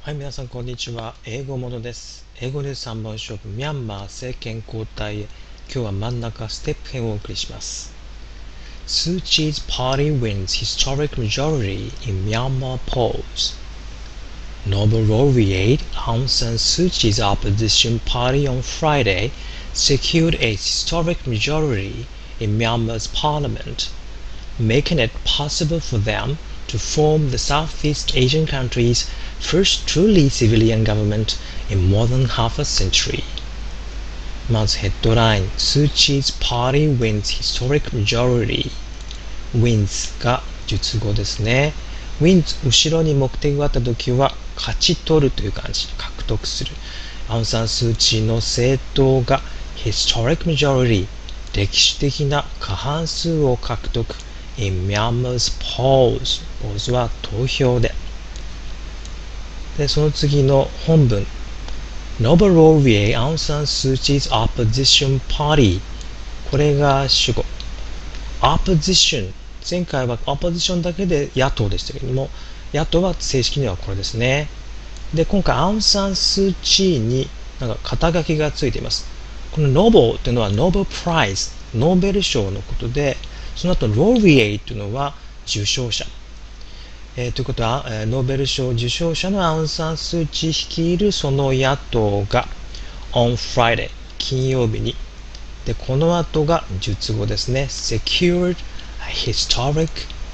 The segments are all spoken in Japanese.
はい、皆さんこんにちは。英語ものです。英語ニュース3本勝負、ミャンマー政権交代へ。今日は真ん中ステップ編をお送りします。Suu Kyi's party wins historic majority in Myanmar polls. Noble laureate Aung San Suu Kyi's opposition party on Friday secured a historic majority in Myanmar's parliament, making it possible for them to form the Southeast Asian country's first truly civilian government in more than half a century. まずヘッドライン Suu Kyi's party wins historic majority. wins が述語ですね。wins 後ろに目的があった時は勝ち取るという感じ、獲得する。アウンサン・スー・チーの政党が historic majority 歴史的な過半数を獲得 in Myanmar's polls polls は投票でその次の本文 Noble laureate Aung San Suu Kyi's opposition party これが主語 opposition 前回はオポジションだけで野党でしたけれども野党は正式にはこれですねで今回アウンサン・スー・チーになんか肩書きがついていますこの Noble というのは Nobel Prize ノーベル賞のことでその後 laureate というのは受賞者ということは、ノーベル賞受賞者のアウンサン・スー・チー率いるその野党が on Friday 金曜日にでこの後が述語ですね secured a historic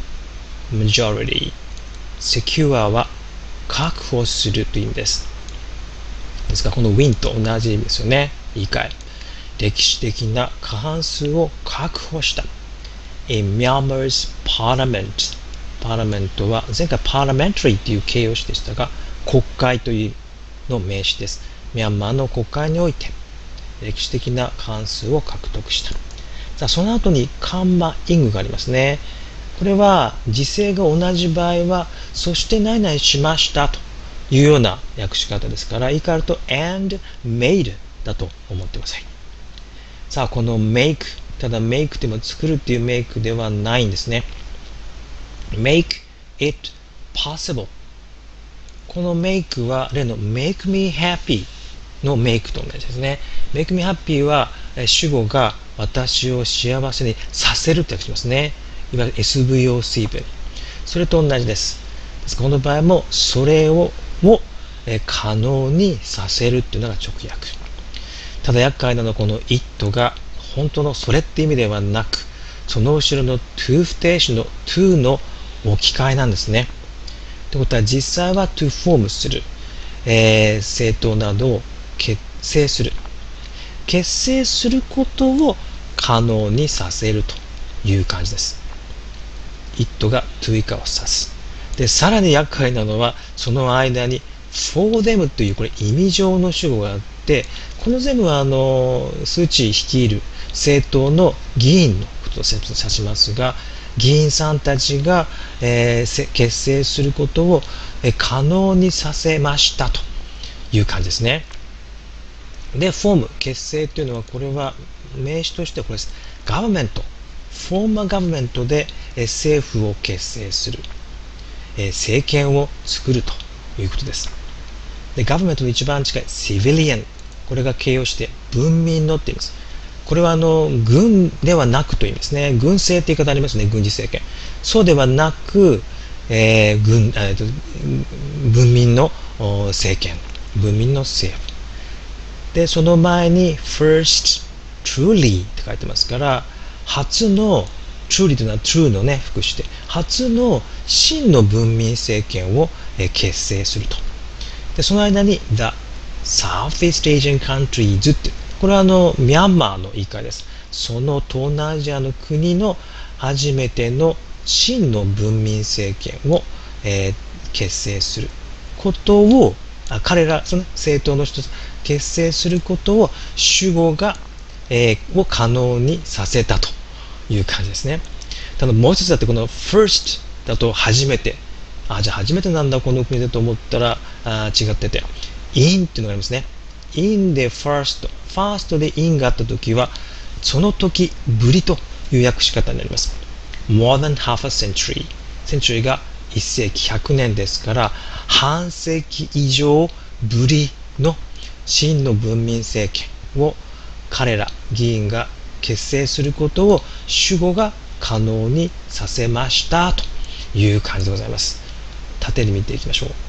majority secure は確保するという意味ですですからこの win と同じ意味ですよね言い換え歴史的な過半数を確保した in Myanmar's parliamentパーラメントは前回パーラメンタリーという形容詞でしたが国会というの名詞ですミャンマーの国会において歴史的な過半数を獲得したさあその後にカンマイングがありますねこれは時制が同じ場合はそして何々しましたというような訳し方ですから言い換えると and made だと思ってくださいさあこの make ただ make でも作るっていう make ではないんですねmake it possible この make は例の make me happy の make と同じですね make me happy は主語が私を幸せにさせるって訳しますねいわゆる SVOC 文それと同じですこの場合もそれを可能にさせるっていうのが直訳ただ厄介なのはこの it が本当のそれって意味ではなくその後ろの to 不定詞の to の置き換えなんですね。ということは実際は to form する、政党などを結成する。結成することを可能にさせるという感じです。it が to 以下を指す。で、さらに厄介なのはその間に for them というこれ意味上の主語があって、この全部はスー・チー率いる政党の議員のことを指しますが、議員さんたちが、結成することを、可能にさせましたという感じですね。で、フォーム、結成というのはこれは名詞としてはこれです。ガバメント、フォーマーガバメントで、政府を結成する、政権を作るということです。で、ガバメントの一番近いシビリアン、これが形容して文民のって言います。これは軍ではなくという意味ですね。軍政って言い方ありますね。軍事政権。そうではなく、文民の政権。文民の政府。で、その前に first truly って書いてますから、初の truly というのは true のね、副詞で、初の真の文民政権を結成すると。で、その間に the Southeast Asian countries ってこれはミャンマーの言い換えです。その東南アジアの国の初めての真の文民政権を、結成することを、彼ら、その政党の一つ、結成することを主語が、を可能にさせたという感じですね。ただもう一つだってこの first だと初めて。じゃあ初めてなんだこの国でと思ったら違ってて。in っていうのがありますね。in で first で in があったときはその時ぶりという訳し方になります more than half a century century が 1世紀100年ですから、半世紀以上ぶりの真の文民政権を彼ら議員が結成することを主語が可能にさせましたという感じでございます。縦に見ていきましょう。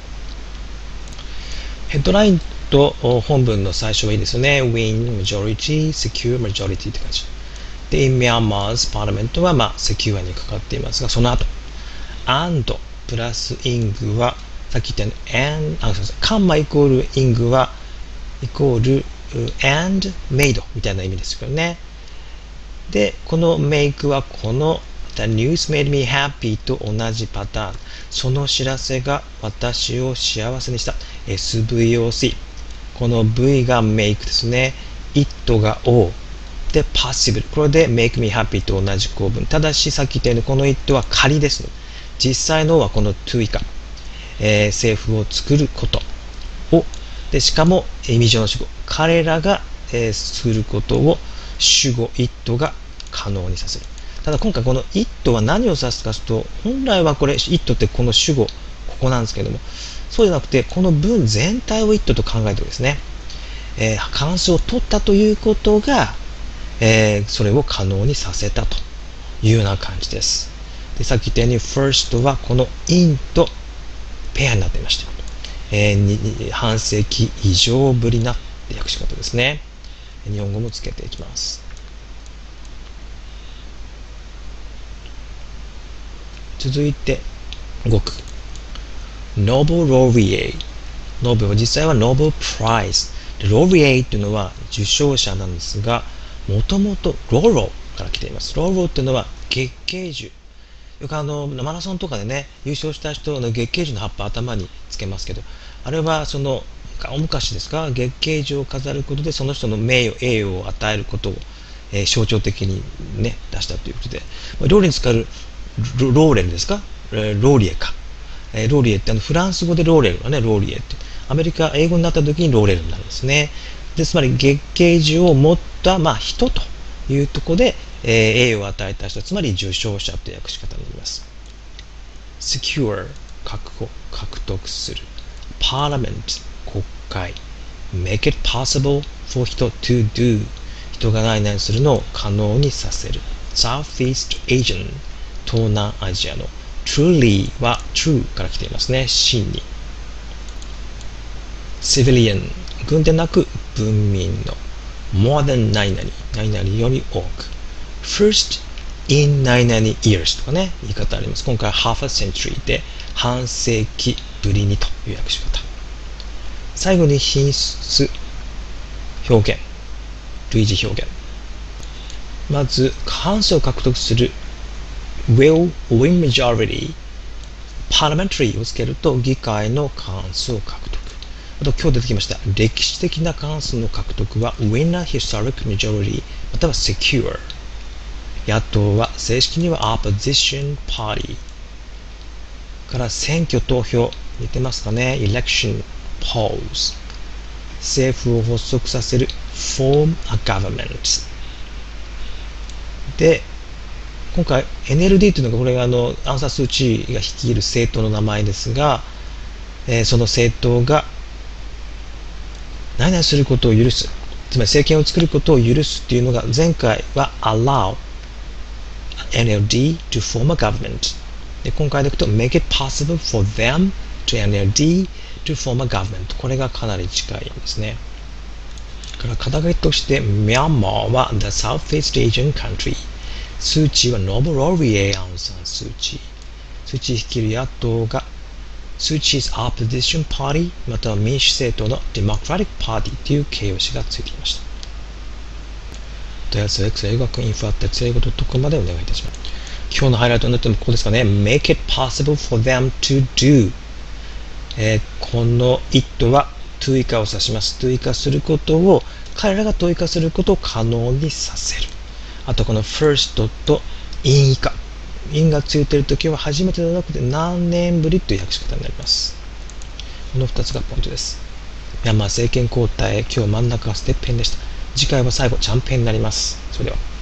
ヘッドラインと本文の最初はいいですよね。Win majority, secure majority って感じ。で、in Myanmar's parliament はsecure にかかっていますが、その後、and プラス ing は、さっき言ったように、カンマイコール ing は、イコール and made みたいな意味ですけどね。で、この make はこの The news made me happy と同じパターン。その知らせが私を幸せにした。SVOC。この V が make ですね。it が O。で、possible。これで make me happy と同じ構文。ただし、さっき言ったようにこの it は仮です。実際のはこの to 以下。政府を作ることを。で、しかも意味上の主語。彼らが、することを主語 it が可能にさせる。ただ今回この it は何を指すかというと、本来はこれ it ってこの主語、ここなんですけども、そうじゃなくてこの文全体を it と考えておくですね。関数を取ったということが、それを可能にさせたというような感じです。で、さっき言ったように first はこの in とペアになっていました。半世紀以上ぶりな訳し方ですね。日本語もつけていきます。続いて5句。Nobel Laureate。Nobel は実際は Nobel Prize。Laureate というのは受賞者なんですが、もともとローロから来ています。ローロというのは月桂樹。よくマラソンとかでね、優勝した人の月桂樹の葉っぱ頭につけますけど、あれはその大昔ですか、月桂樹を飾ることでその人の名誉、栄誉を与えることを、象徴的にね、出したということで、料理に使うローレルですか、ローリエか。ローリエってフランス語でローレルはね、ローリエって。アメリカ、英語になった時にローレルになるんですね。で、つまり月桂樹を持った、人というところで、栄誉を与えた人、つまり受賞者という訳し方になります。secure、確保、獲得する。parliament、国会。make it possible for 人 to do、人が何々するのを可能にさせる。Southeast Asian、東南アジアの。truly は true から来ていますね。真に。civilian、軍でなく文民の。more than 何々、何々より多く。first in 何々 years とかね、言い方あります。今回は half a century で半世紀ぶりにという訳し方。最後に品質表現、類似表現。まず、過半数を獲得する will win majority、parliamentary をつけると議会の過半数を獲得。あと今日出てきました歴史的な過半数の獲得は win a historic majority または secure。野党は正式には opposition party から選挙投票似てますかね。 election polls、 政府を発足させる form a government で、今回 NLD というのがこれがアンサー・スー・チーが率いる政党の名前ですが、その政党が何々することを許す、つまり政権を作ることを許すっていうのが前回は allow NLD to form a government で、今回でいくと make it possible for them to NLD to form a government、 これがかなり近いんですね。から肩書きとしてミャンマーは the Southeast Asian country、 スー・チーは Nobel Laureate アウン・サン・スー・チー、スー・チー率いる野党がスー・チーズ opposition party または民主政党の Democratic Party という形容詞がついていました。問い合わせは X 英語学インフォ@英語.com までお願いいたします。今日のハイライトになってもここですかね。make it possible for them to do、この it は to 以下を指します。to 以下することを彼らがto 以下することを可能にさせる。あとこの first と in 以下、in がついているときは初めてではなくて何年ぶりという訳し方になります。この2つがポイントです。ミャンマー政権交代、今日真ん中がステップ編でした。次回は最後、ジャンプ編になります。それでは。